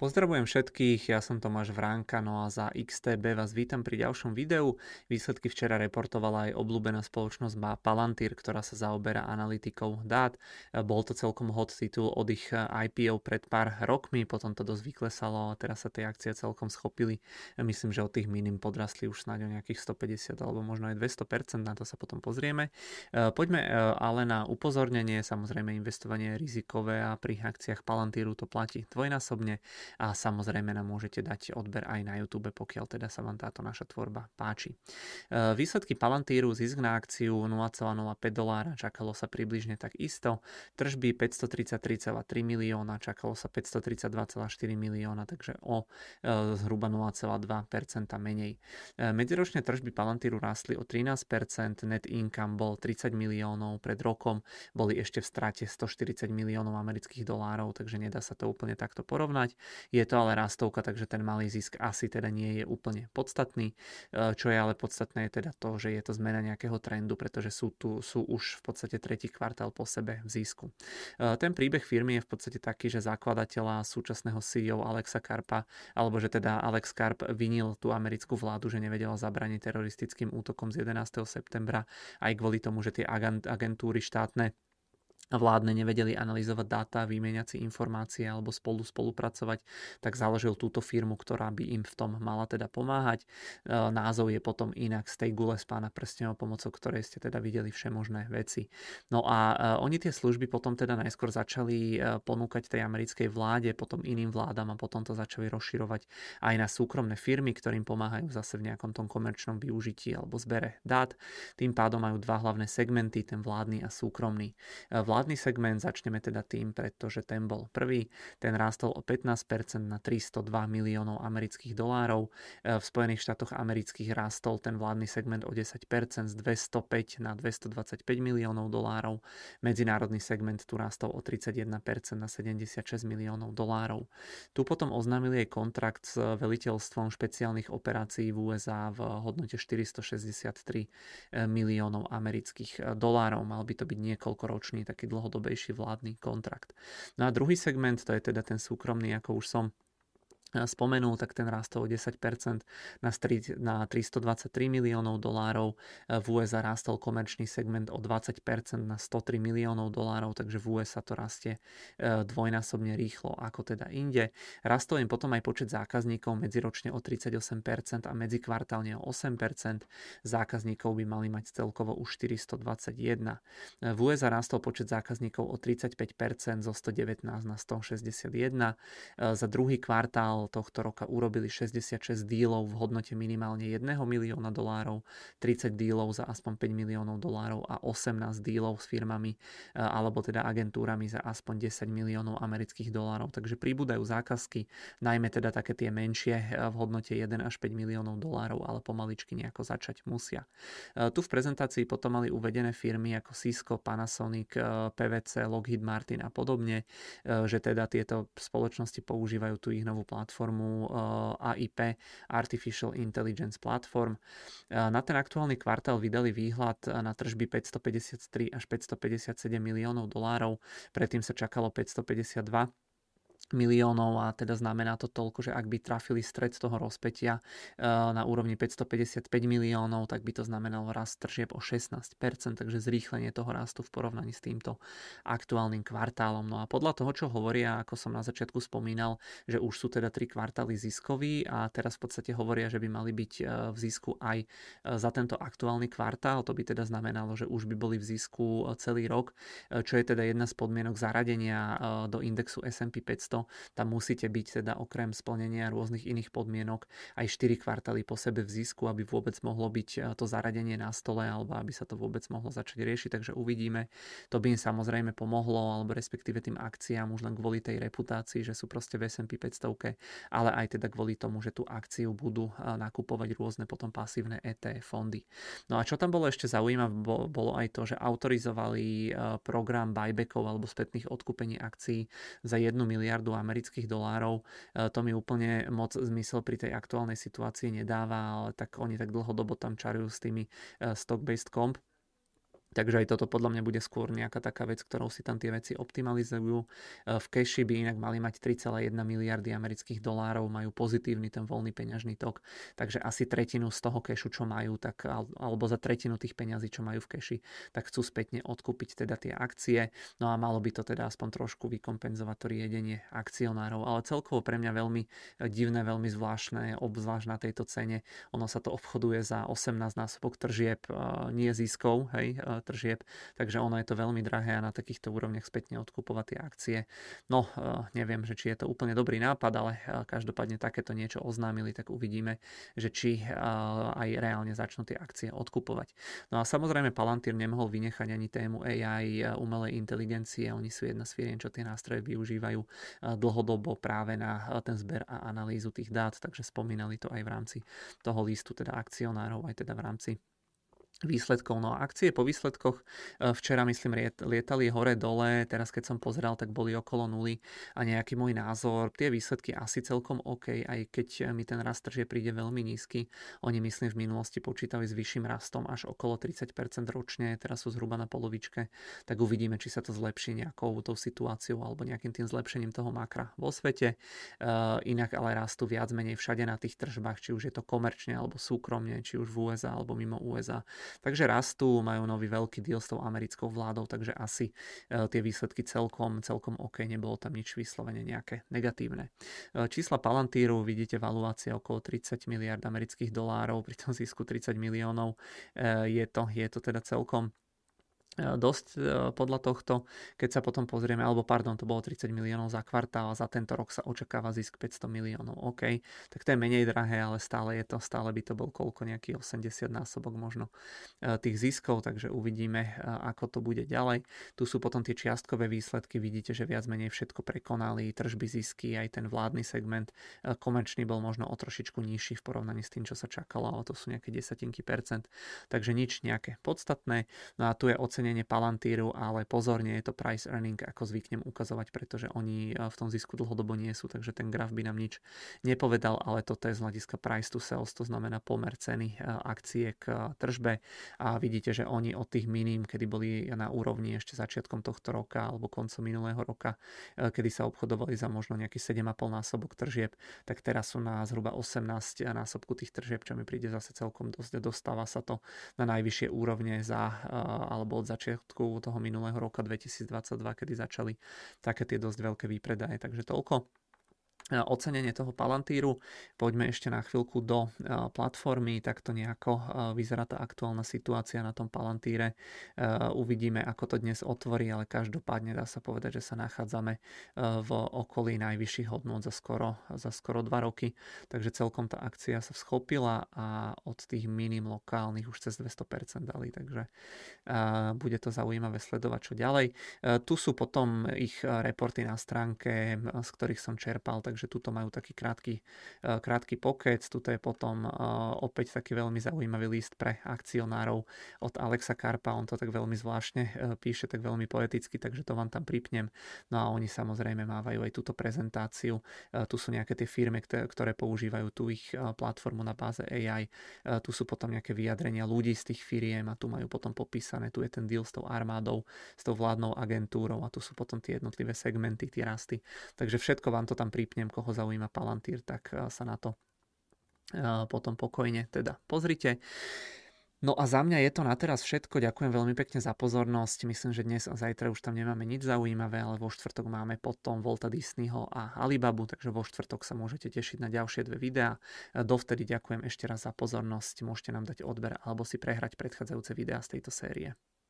Pozdravujem všetkých, ja som Tomáš Vránka, no a za XTB vás vítam pri ďalšom videu. Výsledky včera reportovala aj obľúbená spoločnosť Palantir, ktorá sa zaoberá analytikou dát. Bol to celkom hot titul od ich IPO pred pár rokmi, potom to dosť vyklesalo a teraz sa tie akcie celkom schopili. Myslím, že od tých minim podrastli už snáď o nejakých 150 alebo možno aj 200%, na to sa potom pozrieme. Poďme ale na upozornenie, samozrejme investovanie je rizikové a pri akciách Palantiru to platí dvojnásobne. A samozrejme nám môžete dať odber aj na YouTube, pokiaľ teda sa vám táto naša tvorba páči. Výsledky Palantíru, zisk na akciu $0,05, čakalo sa približne tak isto. Tržby 533,3 milióna, čakalo sa 532,4 milióna, takže o zhruba 0,2% menej. Medziročné tržby Palantíru rástli o 13%, net income bol 30 miliónov, pred rokom boli ešte v strate 140 miliónov amerických dolárov, takže nedá sa to úplne takto porovnať. Je to ale rastovka, takže ten malý zisk asi teda nie je úplne podstatný. Čo je ale podstatné je teda to, že je to zmena nejakého trendu, pretože sú už v podstate tretí kvartál po sebe v zisku. Ten príbeh firmy je v podstate taký, že zakladateľa súčasného CEO Alexa Karpa, alebo že teda Alex Karp vinil tú americkú vládu, že nevedela zabrániť teroristickým útokom z 11. septembra, aj kvôli tomu, že tie agentúry štátne vládne nevedeli analyzovať dáta, vymieňať si informácie alebo spolupracovať, tak založil túto firmu, ktorá by im v tom mala teda pomáhať. Názov je potom inak z tej gule z Pána prstenov, pomocou ktorej ste teda videli všemožné veci. No a oni tie služby potom teda najskôr začali ponúkať tej americkej vláde, potom iným vládam a potom to začali rozširovať aj na súkromné firmy, ktorým pomáhajú zase v nejakom tom komerčnom využití alebo zbere dát. Tým pádom majú dva hlavné segmenty, ten vládny a súkromný. Vládny segment začneme teda tým, pretože ten bol prvý. Ten rástol o 15% na 302 miliónov amerických dolárov. V Spojených štátoch amerických rástol ten vládny segment o 10% z 205 na 225 miliónov dolárov. Medzinárodný segment tu rástol o 31% na 76 miliónov dolárov. Tu potom oznámili aj kontrakt s veliteľstvom špeciálnych operácií v USA v hodnote 463 miliónov amerických dolárov. Mal by to byť niekoľkoročný taký dlhodobejší vládny kontrakt. No a druhý segment, to je teda ten súkromný, ako už som spomenul, tak ten rástol o 10% na 323 miliónov dolárov. V USA rástol komerčný segment o 20% na 103 miliónov dolárov, takže v USA to rastie dvojnásobne rýchlo ako teda inde. Rastol im potom aj počet zákazníkov medziročne o 38% a medzikvartálne o 8%. Zákazníkov by mali mať celkovo už 421. V USA rástol počet zákazníkov o 35% zo 119 na 161. Za druhý kvartál tohto roka urobili 66 dílov v hodnote minimálne 1 milióna dolárov, 30 dílov za aspoň 5 miliónov dolárov a 18 dílov s firmami alebo teda agentúrami za aspoň 10 miliónov amerických dolárov. Takže pribúdajú zákazky, najmä teda také tie menšie v hodnote 1 až 5 miliónov dolárov, ale pomaličky nejako začať musia. Tu v prezentácii potom mali uvedené firmy ako Cisco, Panasonic, PVC, Lockheed Martin a podobne, že teda tieto spoločnosti používajú tú ich novú platformu AIP, Artificial Intelligence Platform. Na ten aktuálny kvartál vydali výhľad na tržby 553 až 557 miliónov dolárov, predtým sa čakalo 552 miliónov a teda znamená to toľko, že ak by trafili stred toho rozpätia na úrovni 555 miliónov, tak by to znamenalo rast tržieb o 16%, takže zrýchlenie toho rastu v porovnaní s týmto aktuálnym kvartálom. No a podľa toho, čo hovoria, ako som na začiatku spomínal, že už sú teda 3 kvartály ziskoví a teraz v podstate hovoria, že by mali byť v zisku aj za tento aktuálny kvartál, to by teda znamenalo, že už by boli v zisku celý rok, čo je teda jedna z podmienok zaradenia do indexu S&P 500. Tam musíte byť teda okrem splnenia rôznych iných podmienok aj 4 kvartály po sebe v zisku, aby vôbec mohlo byť to zaradenie na stole alebo aby sa to vôbec mohlo začať riešiť, takže uvidíme. To by im samozrejme pomohlo, alebo respektíve tým akciám už len kvôli tej reputácii, že sú proste v S&P 500, ale aj teda kvôli tomu, že tú akciu budú nakupovať rôzne potom pasívne ETF fondy. No a čo tam bolo ešte zaujímavé, bolo aj to, že autorizovali program buybackov alebo spätných odkúpení akcií za 1 miliardu amerických dolárov. To mi úplne moc zmysel pri tej aktuálnej situácii nedáva, ale tak oni tak dlhodobo tam čarujú s tými stock-based comp. Takže aj toto podľa mňa bude skôr nejaká taká vec, ktorou si tam tie veci optimalizujú. V cashi by inak mali mať 3,1 miliardy amerických dolárov, majú pozitívny ten voľný peňažný tok, takže asi tretinu z toho cashu, čo majú, tak, alebo za tretinu tých peňazí, čo majú v cashi, tak chcú spätne odkúpiť teda tie akcie. No a malo by to teda aspoň trošku vykompenzovať to riedenie akcionárov. Ale celkovo pre mňa veľmi divné, veľmi zvláštne, obzvlášť na tejto cene. Ono sa to obchoduje za 18 násobok tržieb, nie ziskov, hej, tržieb, takže ono je to veľmi drahé a na takýchto úrovniach spätne odkupovať tie akcie. No, neviem, že či je to úplne dobrý nápad, ale každopádne takéto niečo oznámili, tak uvidíme, že či aj reálne začnú tie akcie odkupovať. No a samozrejme Palantir nemohol vynechať ani tému AI, umelej inteligencie. Oni sú jedna z firiem, čo tie nástroje využívajú dlhodobo práve na ten zber a analýzu tých dát, takže spomínali to aj v rámci toho listu teda akcionárov, aj teda v rámci výsledkov. No a akcie po výsledkoch včera myslím lietali hore dole, teraz keď som pozeral, tak boli okolo nuly a nejaký môj názor, tie výsledky asi celkom OK, aj keď mi ten rast tržie príde veľmi nízky. Oni myslím v minulosti počítali s vyšším rastom až okolo 30% ročne, teraz sú zhruba na polovičke, tak uvidíme, či sa to zlepší nejakou tou situáciou alebo nejakým tým zlepšením toho makra vo svete. Inak ale rastú viac menej všade na tých tržbách, či už je to komerčne alebo súkromne, či už v USA alebo mimo USA. Takže rastú, majú nový veľký deal s tou americkou vládou, takže asi tie výsledky celkom OK, nebolo tam nič vyslovene nejaké negatívne. Čísla Palantíru, vidíte valuácia okolo 30 miliard amerických dolárov, pri tom zisku 30 miliónov, je to teda celkom dosť podľa tohto, keď sa potom pozrieme, alebo pardon, to bolo 30 miliónov za kvartál a za tento rok sa očakáva zisk 500 miliónov. OK, tak to je menej drahé, ale stále by to bol koľko, nejaký 80 násobok možno tých ziskov, takže uvidíme, ako to bude ďalej. Tu sú potom tie čiastkové výsledky, vidíte, že viac menej všetko prekonali, tržby, zisky, aj ten vládny segment, komerčný bol možno o trošičku nižší v porovnaní s tým, čo sa čakalo, ale to sú nejaké desatinky percent, takže nič nejaké podstatné. No a tu je ocenenie Palantíru, ale pozorne je to price earning, ako zvyknem ukazovať, pretože oni v tom zisku dlhodobo nie sú, takže ten graf by nám nič nepovedal, ale toto je z hľadiska price to sales, to znamená pomer ceny akcie k tržbe a vidíte, že oni od tých minim, kedy boli na úrovni ešte začiatkom tohto roka alebo koncom minulého roka, kedy sa obchodovali za možno nejaký 7,5 násobok tržieb, tak teraz sú na zhruba 18 násobku tých tržieb, čo mi príde zase celkom dosť, dostáva sa to na najvyššie úrovne alebo od začiatku toho minulého roka 2022, kedy začali také tie dosť veľké výpredaje. Takže toľko ocenenie toho Palantíru. Poďme ešte na chvíľku do platformy, takto nejako vyzerá tá aktuálna situácia na tom Palantíre. Uvidíme, ako to dnes otvorí, ale každopádne dá sa povedať, že sa nachádzame v okolí najvyšších hodnôt za skoro 2 roky, takže celkom tá akcia sa schopila a od tých minim lokálnych už cez 200% dali, takže bude to zaujímavé sledovať, čo ďalej. Tu sú potom ich reporty na stránke, z ktorých som čerpal, takže tuto majú taký krátky pokec, tuto je potom opäť taký veľmi zaujímavý list pre akcionárov od Alexa Karpa, on to tak veľmi zvláštne píše, tak veľmi poeticky, takže to vám tam pripnem. No a oni samozrejme mávajú aj túto prezentáciu, tu sú nejaké tie firmy, ktoré používajú tú ich platformu na báze AI, tu sú potom nejaké vyjadrenia ľudí z tých firiem a tu majú potom popísané, tu je ten deal s tou armádou, s tou vládnou agentúrou a tu sú potom tie jednotlivé segmenty, tie rasty, takže všetko vám to tam pripnem, koho zaujíma Palantír, tak sa na to potom pokojne teda pozrite. No a za mňa je to na teraz všetko. Ďakujem veľmi pekne za pozornosť. Myslím, že dnes a zajtra už tam nemáme nič zaujímavé, ale vo štvrtok máme potom Walta Disneyho a Alibabu, takže vo štvrtok sa môžete tešiť na ďalšie 2 videá. Dovtedy ďakujem ešte raz za pozornosť. Môžete nám dať odber alebo si prehrať predchádzajúce videá z tejto série.